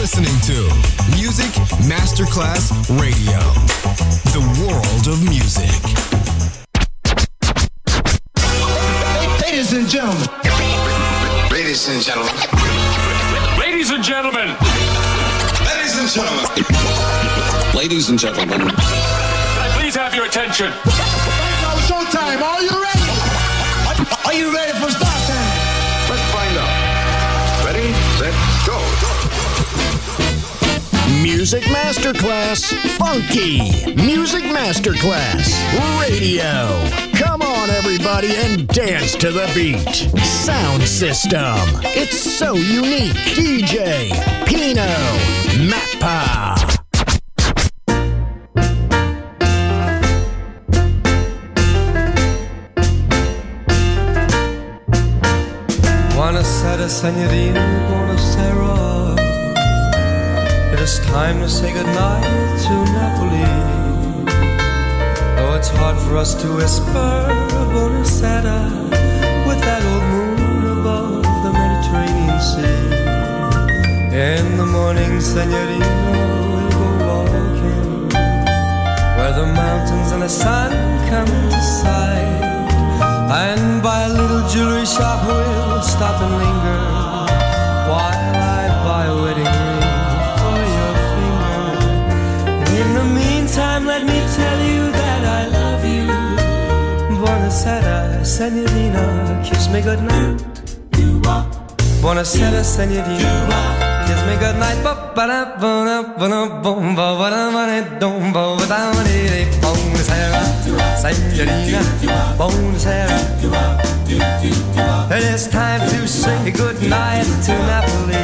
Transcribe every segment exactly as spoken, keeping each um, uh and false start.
listening to Music Masterclass Radio, the world of music. Ladies and gentlemen. Ladies and gentlemen. Ladies and gentlemen. Ladies and gentlemen. Ladies and gentlemen. Can I please have your attention? Now showtime. Are you ready? Are you ready for start time? Let's find out. Ready, set, go. Music Masterclass Funky. Music Masterclass Radio. Come on, everybody, and dance to the beat. Sound system. It's so unique. D J Pino Mappa. Buonasera, signorina, buonasera. It is time to say goodnight to Napoli. Though it's hard for us to whisper buonasera with that old moon above the Mediterranean Sea. In the morning, signorina, we'll go walking where the mountains and the sun come into sight. And by a little jewelry shop we'll stop and linger while I buy a wedding ring for your finger. In the meantime, let me tell you that I love you. Buonasera, signorina, kiss me goodnight. Buonasera, signorina, kiss me goodnight. Buonasera, signorina, buonasera. It is time to say goodnight to Napoli.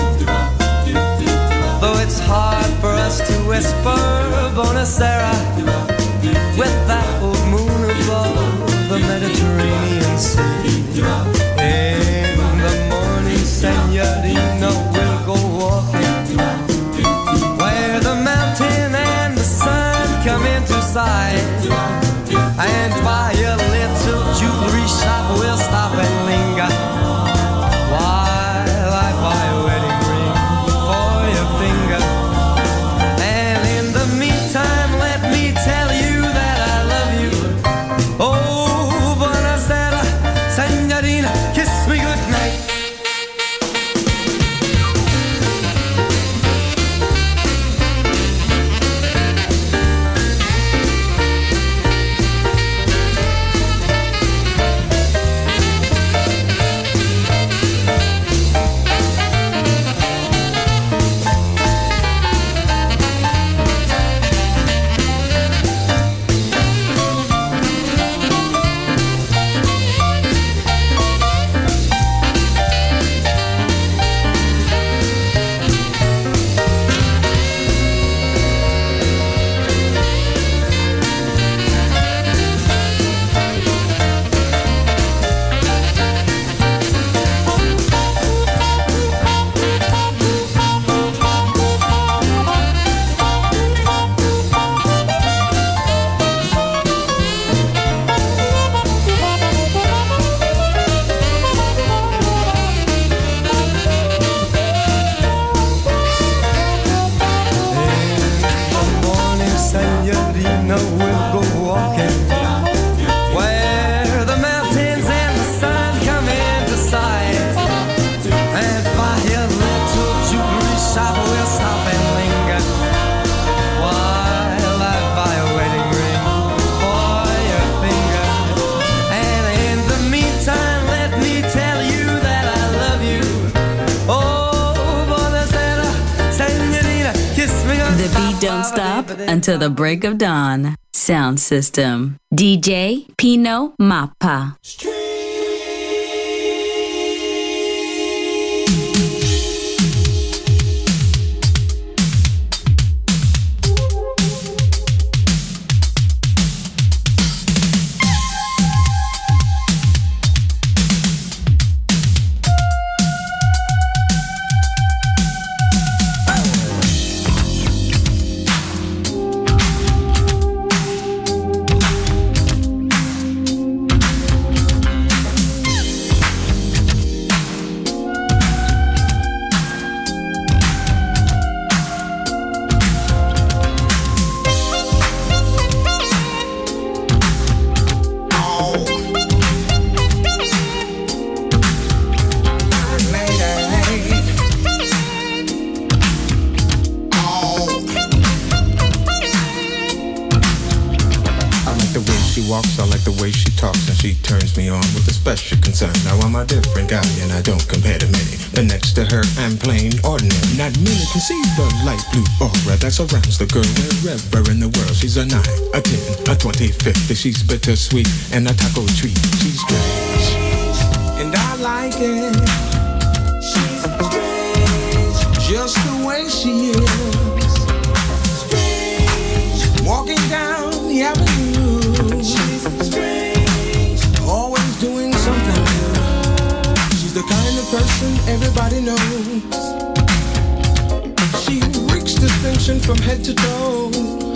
Though it's hard for us to whisper buonasera with that old moon above the Mediterranean Sea. In the morning, signorina, we'll go walking where the mountain and the sun come into sight. And by a little jewelry shop we'll stop and linger while I buy a wedding ring for your finger. And in the meantime, let me tell you that I love you. Oh, buonasera, signorina, kiss me goodnight. Don't stop until the break of dawn. Sound system. D J Pino Mappa. walks, I like the way she talks, and she turns me on with a special concern. Now I'm a different guy, and I don't compare to many. But next to her, I'm plain ordinary. Not many can see the light blue aura that surrounds the girl wherever in the world. She's a nine, a ten, a twenty, fifty. She's bittersweet and a taco treat. She's strange, and I like it. She's strange, just the way she is. Strange, walking down the avenue. She's strange, always doing something new. She's the kind of person everybody knows. She reeks distinction from head to toe.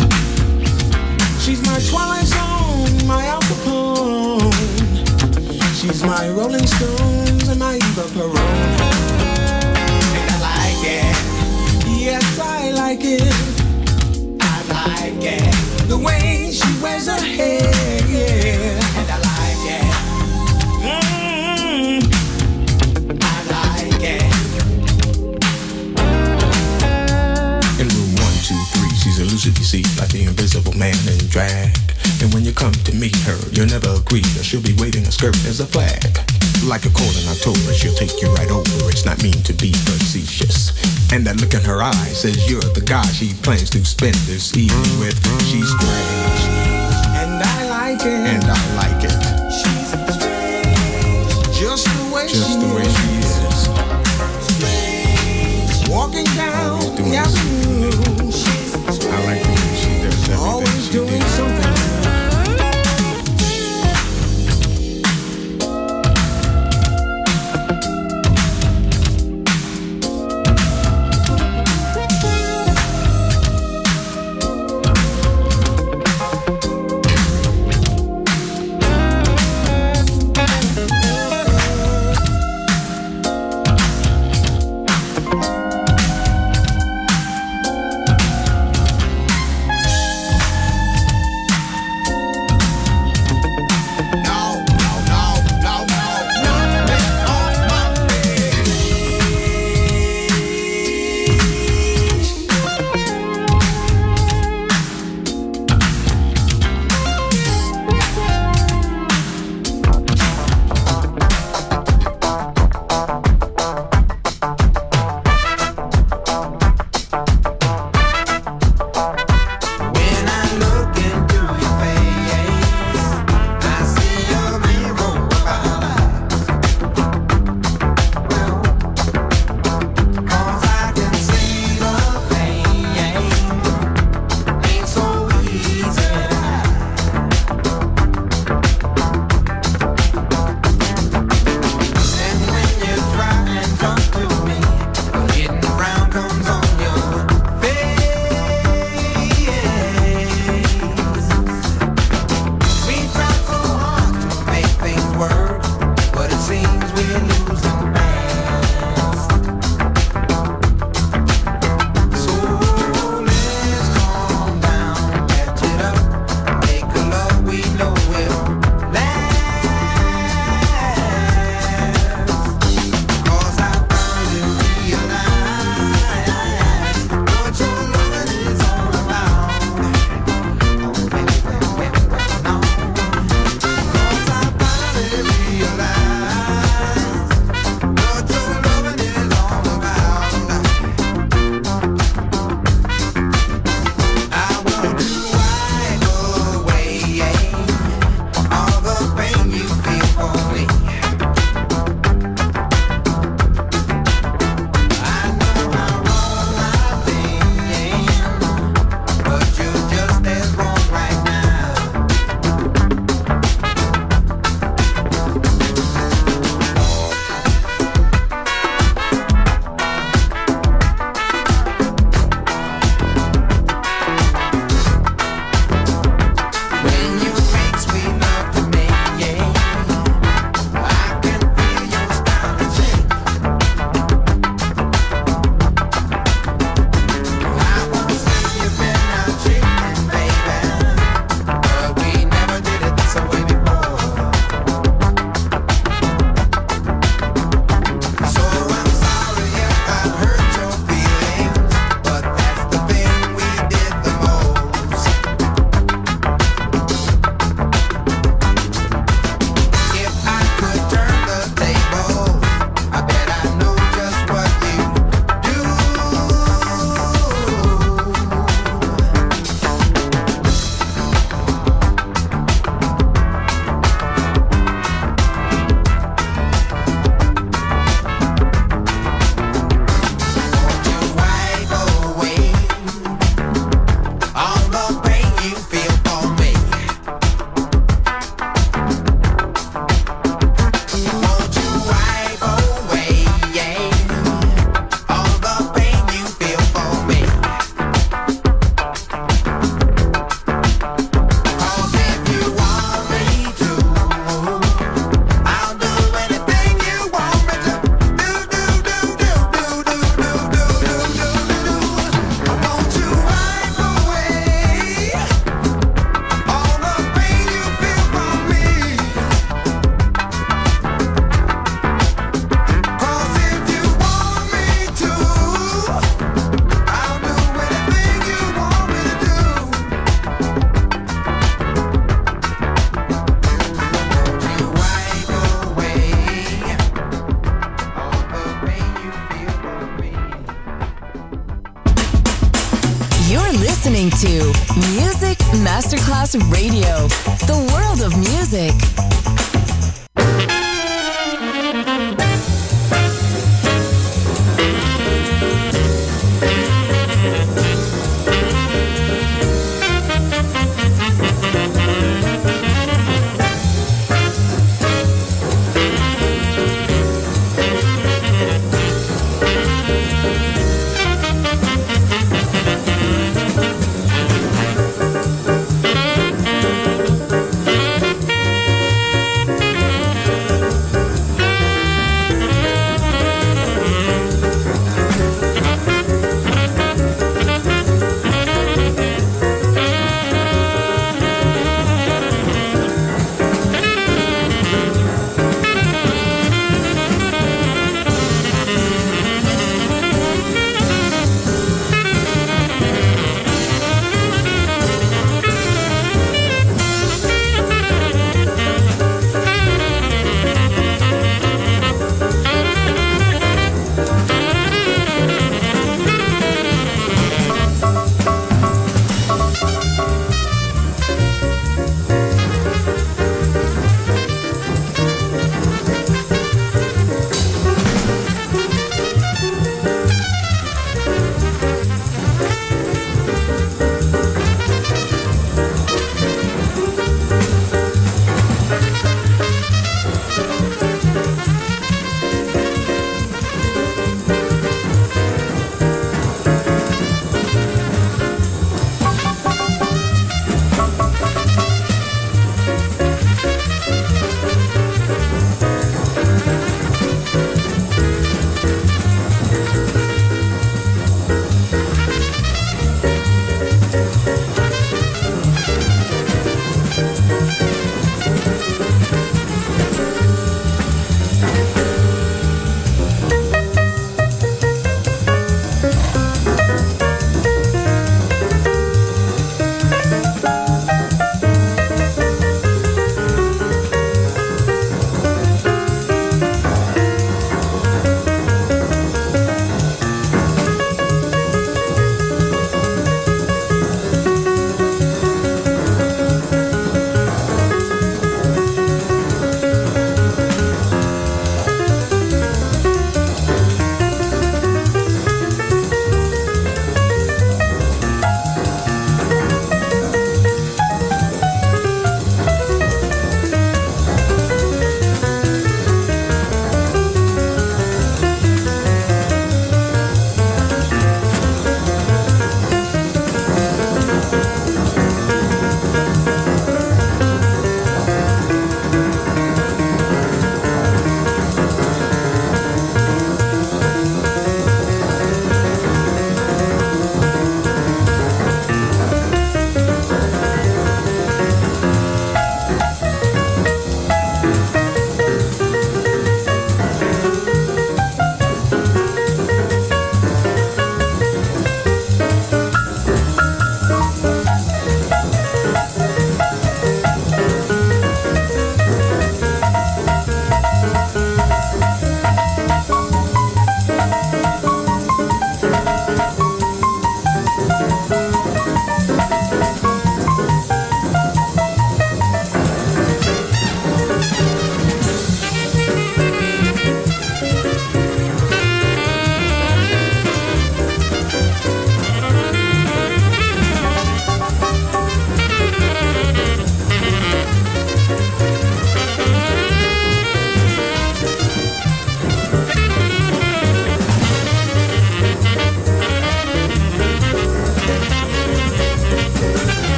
She's my Twilight Zone, my Al Capone. She's my Rolling Stones and my Eva Peron. And I like it. Yes, I like it. I like it. The way she wears her hair, yeah. And I like it. Mm-hmm. I like it. In room one, two, three, she's elusive, you see, like the invisible man in drag. And when you come to meet her, you'll never agree that she'll be waving a skirt as a flag. Like a cold in October, she'll take you right over. It's not mean to be facetious. And that look in her eye says you're the guy she plans to spend this evening with. She's strange, and I like it. And I like it. She's strange, just the way just she the way is. She is. Strange, walking down the avenue. I like the way she does everything. Always she doing did. Something. You're listening to Music Masterclass Radio, the world of music.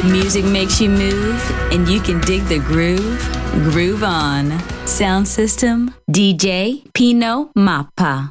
Music makes you move, and you can dig the groove. Groove on. Sound system, D J Pino Mappa.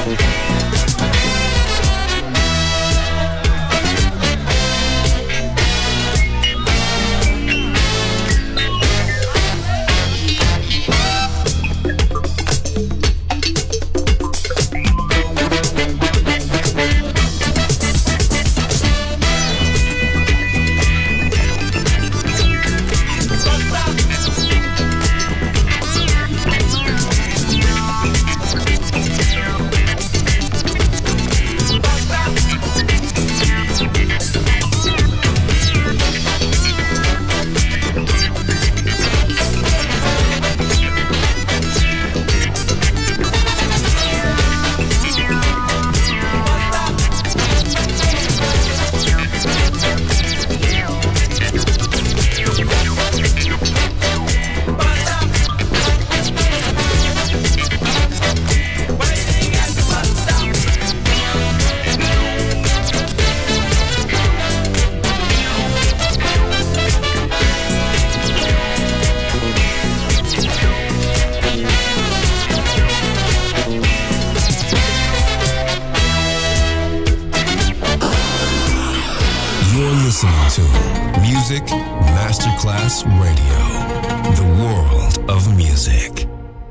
Music Masterclass Radio, the world of music.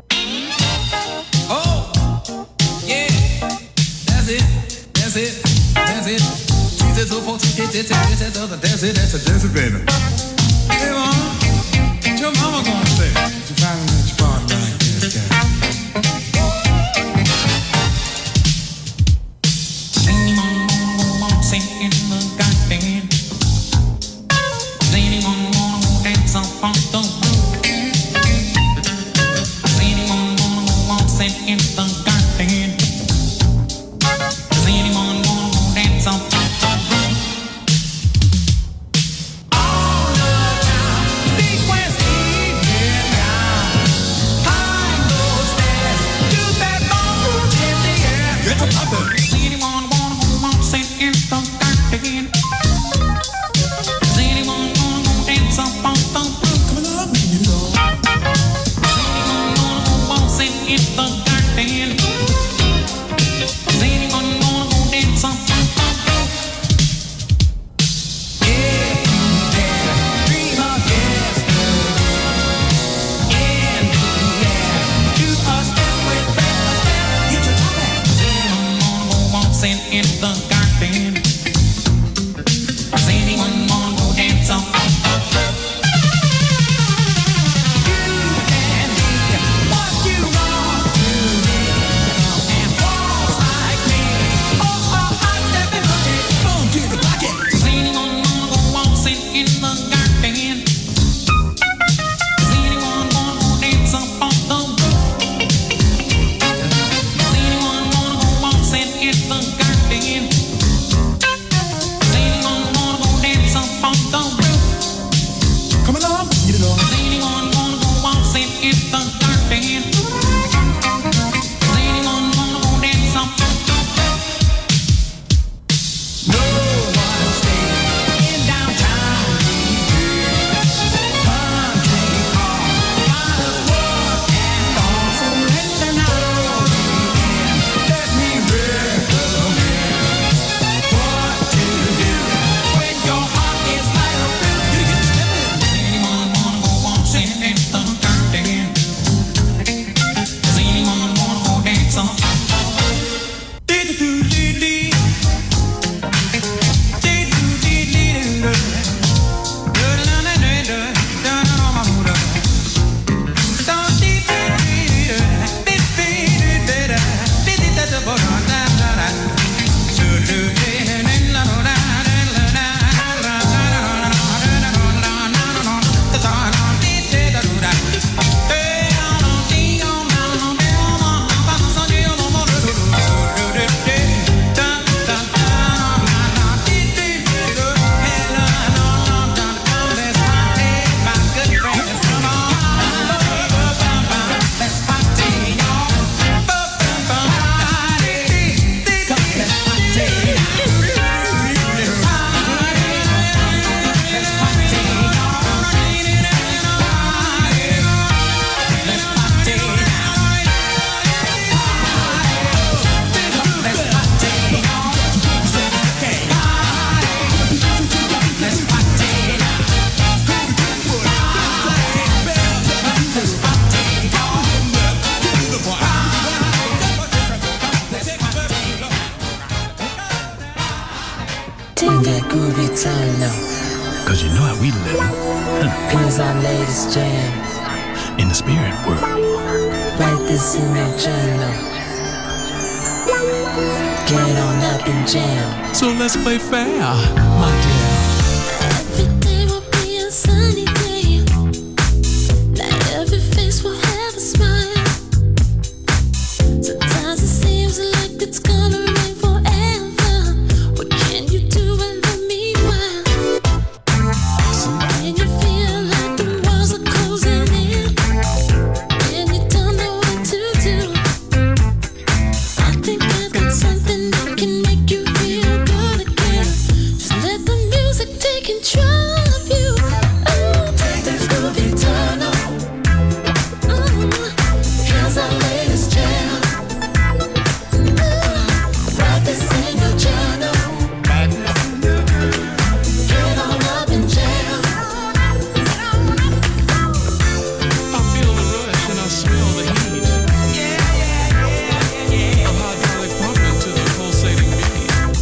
Oh, yeah, that's it, that's it, that's it. Jesus, so folks, get it, that's it, that's it, that's it, that's it, baby. Hey, mom, what your mama gonna say? You finally let your partner like this guy. Dance Take that groovy turn up. Cause you know how we live. Huh. Here's our latest jam. In the spirit world. Write this in your journal. Get on up and jam. So let's play fair, my dear. Every day will be a sunny day. Not every face will have a smile. Sometimes it seems like it's gonna rain forever. What can you do in the meanwhile? When you feel like the walls are closing in and you don't know what to do, I think I've got something that can make you feel good again. Just let the music take control of you. Oh, take that groovy turn on. Mm, here's our latest jam. Write this in your journal. Get on up and jam. I feel the rush and I smell the heat. A hydraulic pumping to the pulsating beat.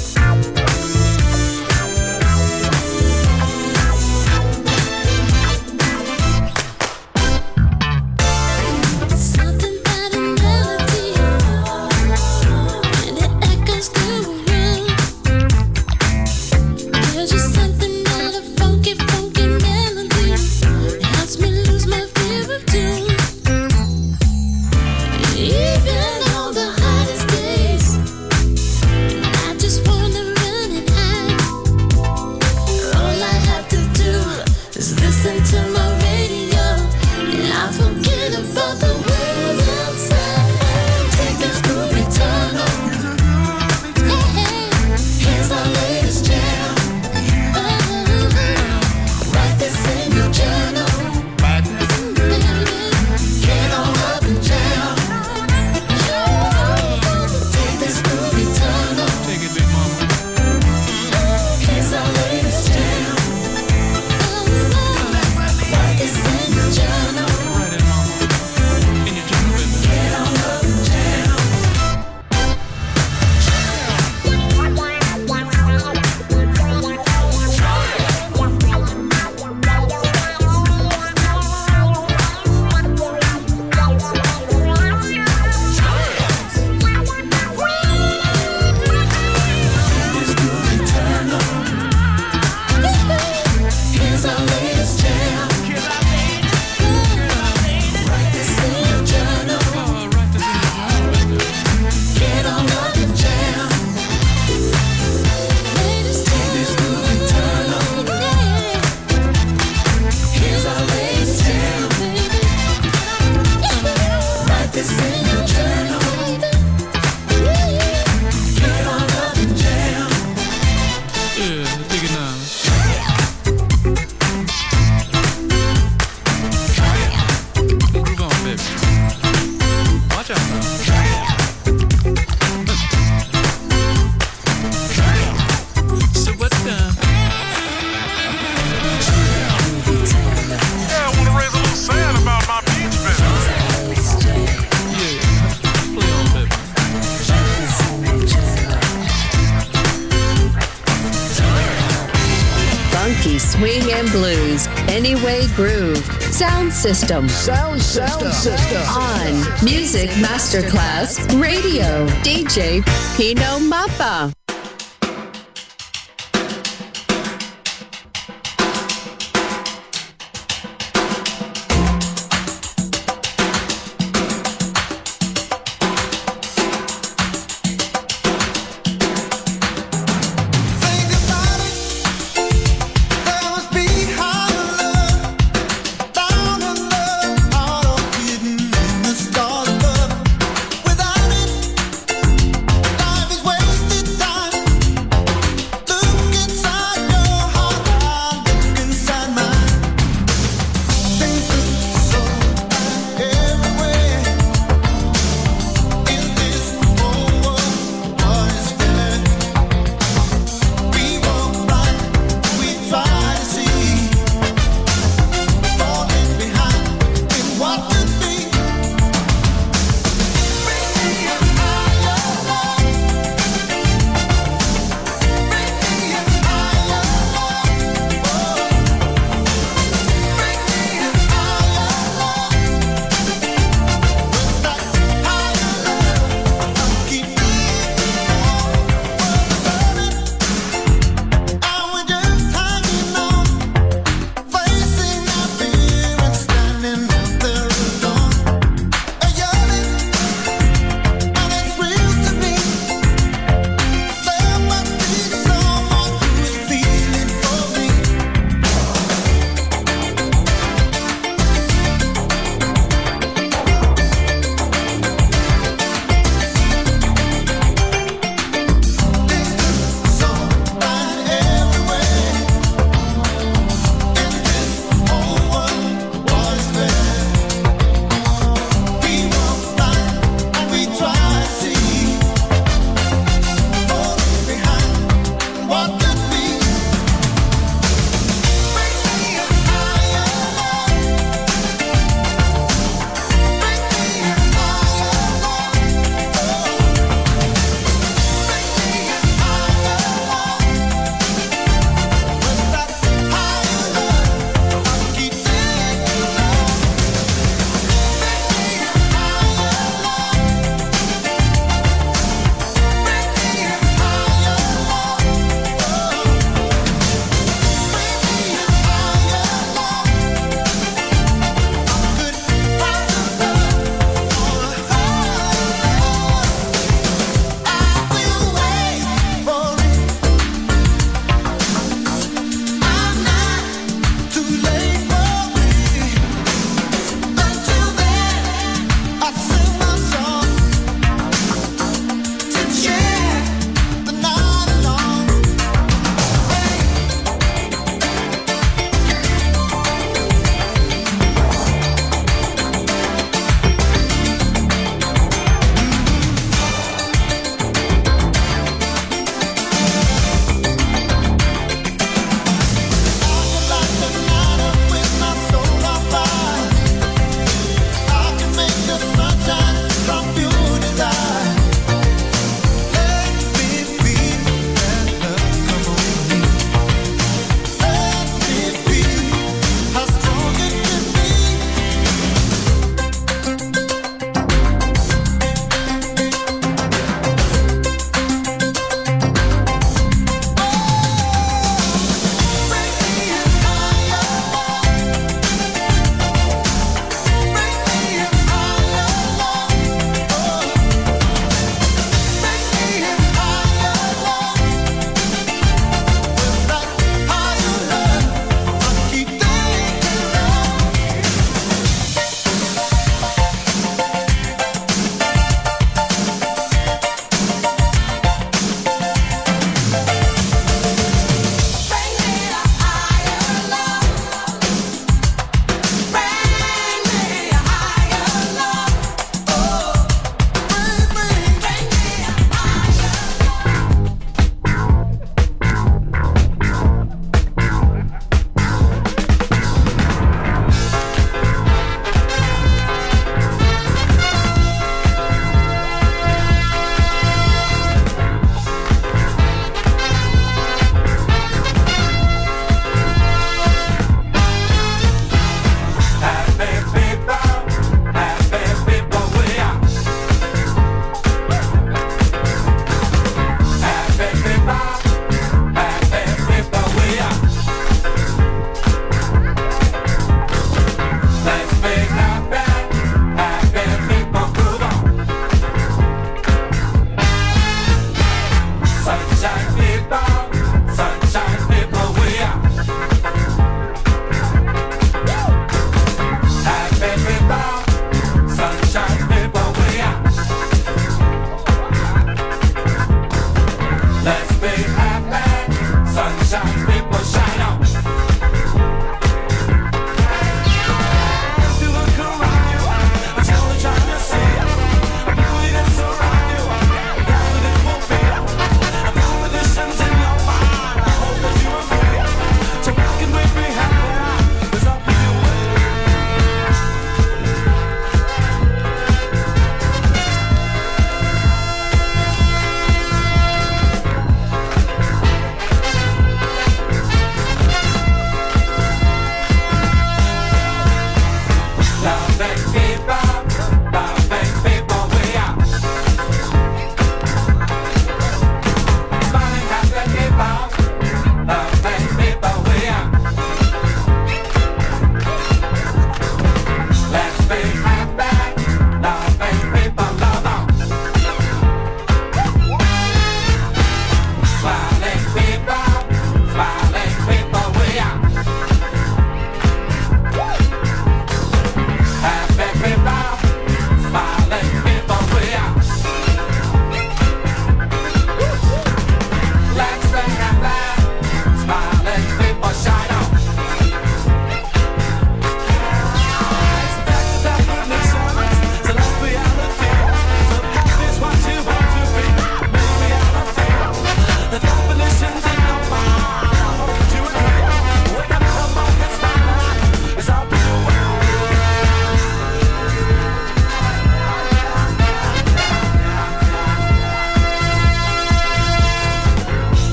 Something about a melody, and it echoes through a room. There's just something about a funky, funky melody. It helps me lose my fear of doom. Even on the hottest days, I just wanna run and hide. All I have to do is listen to my radio, and I forget about the world outside. Take this groovy turn on. Hey, here's our latest jam. Write this in your journal. Get on up and jam. Take this groovy turn on. Take it, big mama. Here's our latest jam. Write this in your journal. Write it, mama. In your journal, baby. Get on up and jam. This groovy turn on. Here's our latest jam. Write this in your journal. Oh, write this in your journal, baby. Get on up and jam. Latest jam. This groovy turn on. Here's our latest jam. Write this in your journal. Get on up and jam. Yeah, dig it now. Groove on, baby. Watch out now. So what's done? Yeah, I want to raise a little sand about my beach business. Yeah, play on, baby. Funky swing and blues. Anyway groove. Sound system. Sound system. system. On Music Masterclass Radio. D J Pino Mappa. Think about it. There must be higher love, down in love, out of hidden in the stars above. Without it, life is wasted time.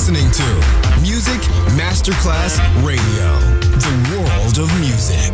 listening to Music Masterclass Radio, the world of music.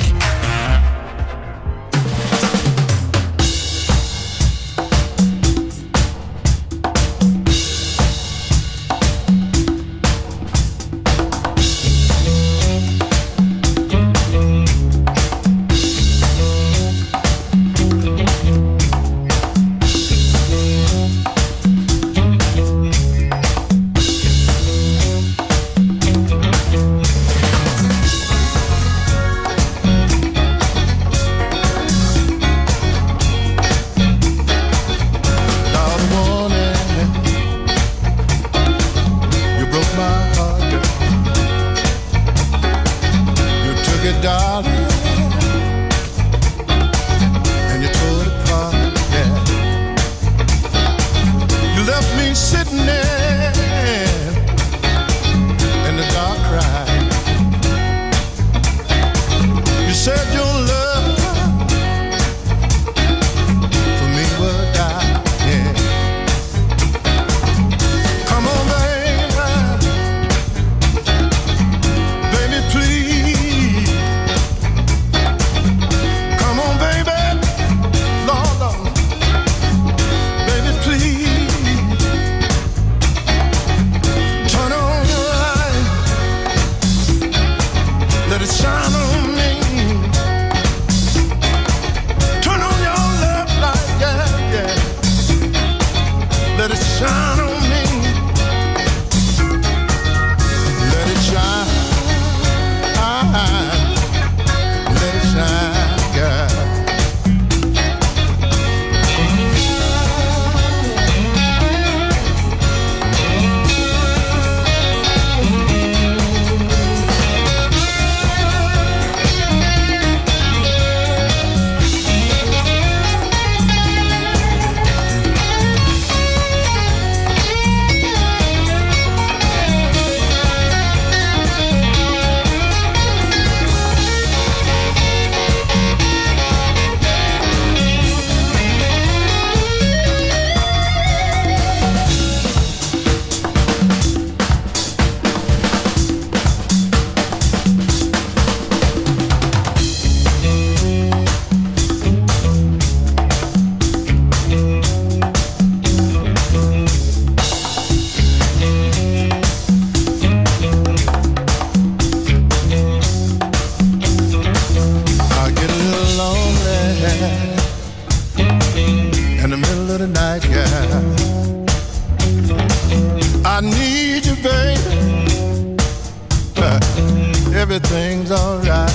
Everything's alright.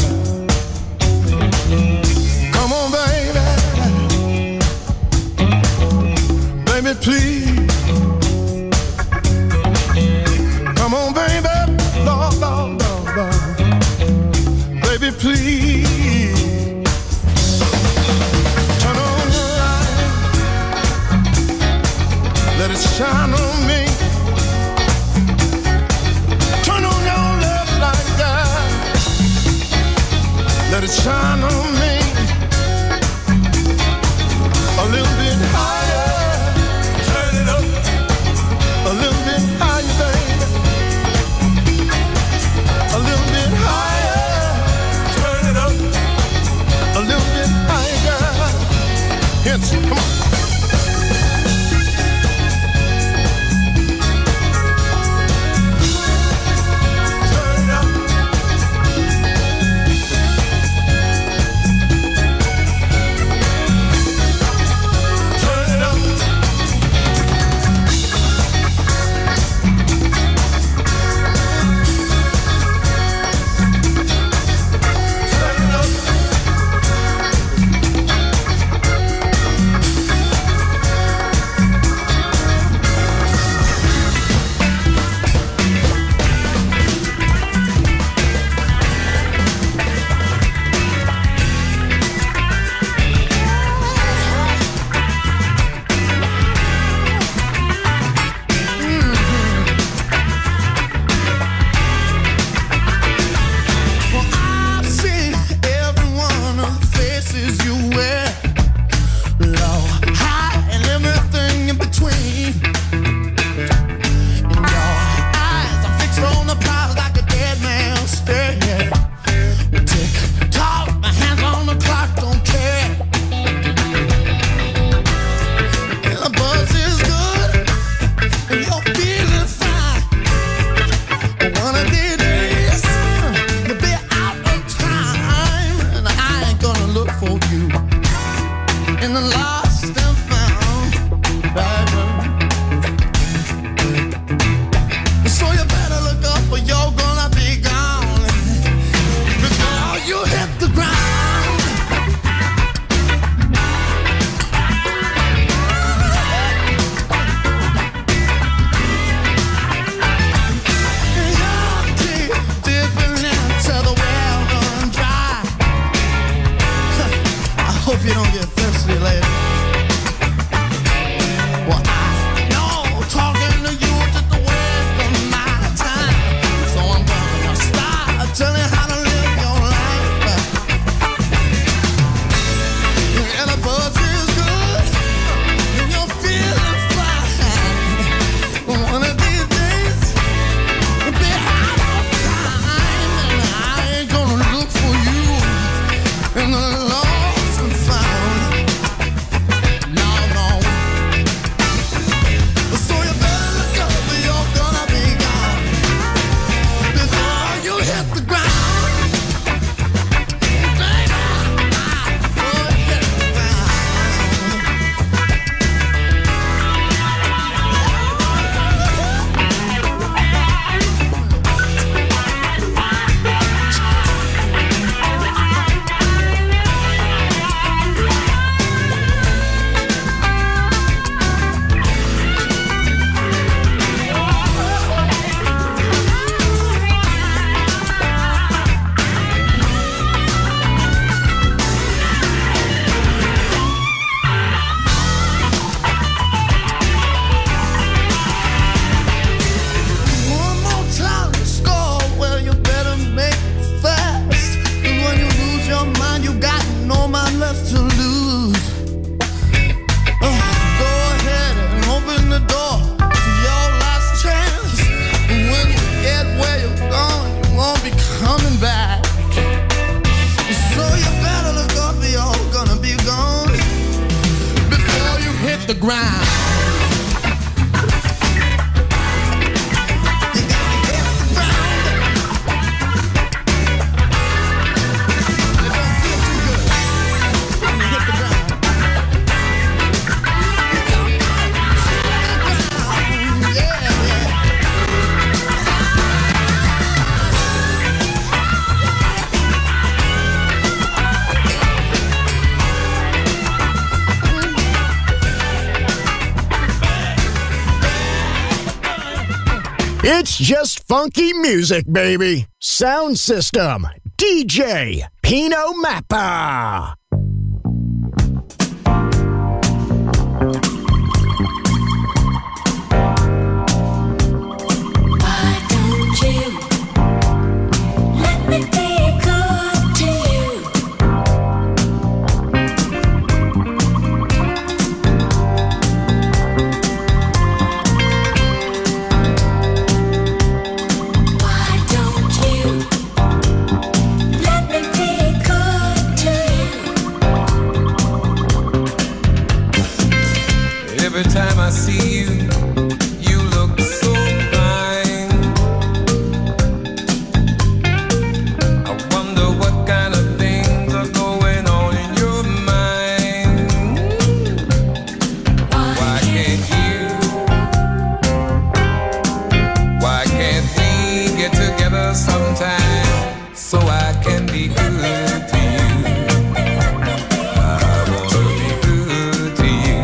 Come on, baby. Baby, please. Come on, baby. Lord, Lord, Lord, Lord. Baby, please. Turn on the light. Let it shine on me. Let it shine on me a little bit higher. Turn it up a little bit higher, baby. A little bit higher. Turn it up a little bit higher. Hits, come on. It's just funky music, baby. Sound System, D J Pino Mappa. Why don't you let me be good to you? Why don't you let me be good to you? Every time I see you, you look so fine. I wonder what kind of things are going on in your mind. Why can't you? Why can't we get together sometime so I can be good to you? I wanna be good to you.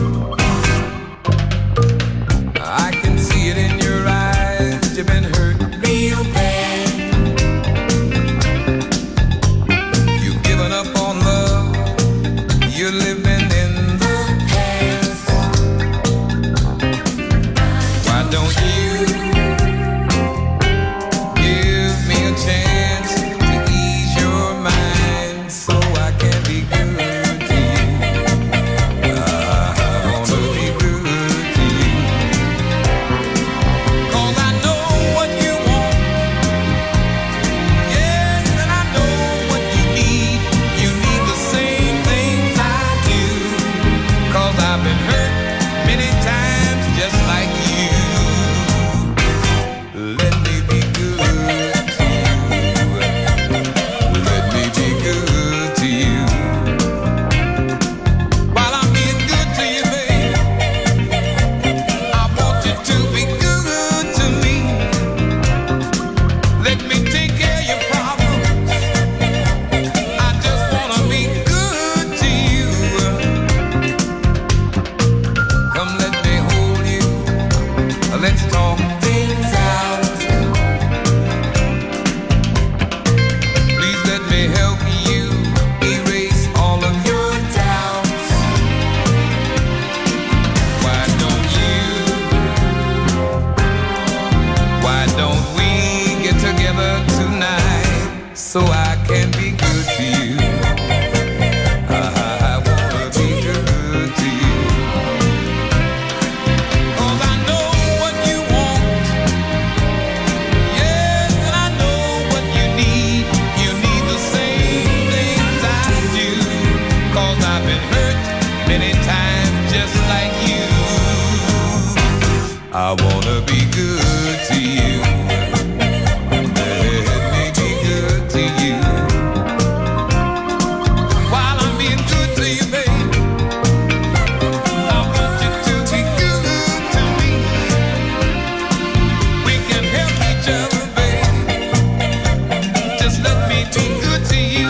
I can see it in your eyes. You've been hurt real bad. You've given up on love. You're living in the past. Why don't you give me a chance to ease your mind so I can be good to you? I wanna be good to you. 'Cause I know what you want. Yes, and I know what you need. You need the same things I do. 'Cause I've been hurt many times just like you. Let me be good to you. Let me be good to you. While I'm being good to you, babe, I want you to be good to me. Let me take care of your problems. I just wanna be good to you. Come, let me hold you. Let's talk things out. Please let me help you erase all of your doubts. Why don't you? Why don't we get together tonight so I can be good to you? I wanna be good to you. 'Cause I know what you want. Yes, and I know what you need. You need the same things I do. 'Cause I've been hurt many times just like you. I wanna be good to you. Let me be good to you. While I'm being good to you, babe, I want you to be good to me. We can help each other, babe. Just let me be good to you.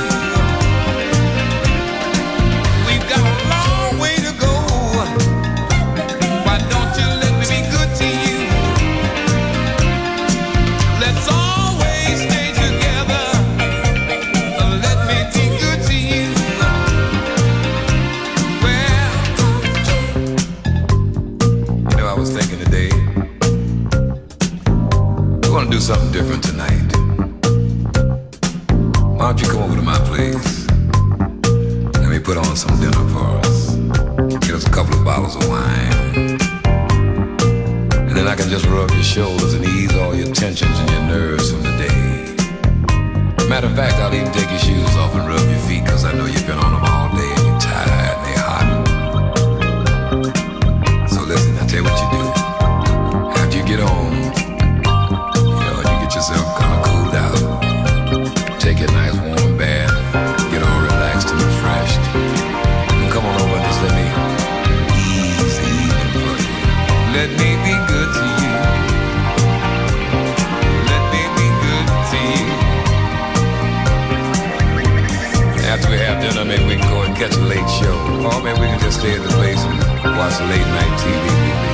We've got a long way to go. Why don't you let me be good to you? Let's always stay together. Let me be good to you. Well, you know, I was thinking today, we want to do something different tonight. Why don't you come over to my place? Let me put on some dinner for us. Get us a couple of bottles of wine. And then I can just rub your shoulders and ease all your tensions and your nerves from the day. Matter of fact, I'll even take your shoes off and rub your feet, 'cause I know you've been on them all day and you're tired and they're hot. So listen, I'll tell you what you do. After you get home, you know, and you get yourself kind of cooled out, take a nice warm bath, get all relaxed and refreshed, and come on over and just let me ease the evening for you. Let me be good to you. Let me be good to you. After we have dinner, maybe we can go and catch a late show. Or maybe we can just stay at the place and watch a late night T V movie.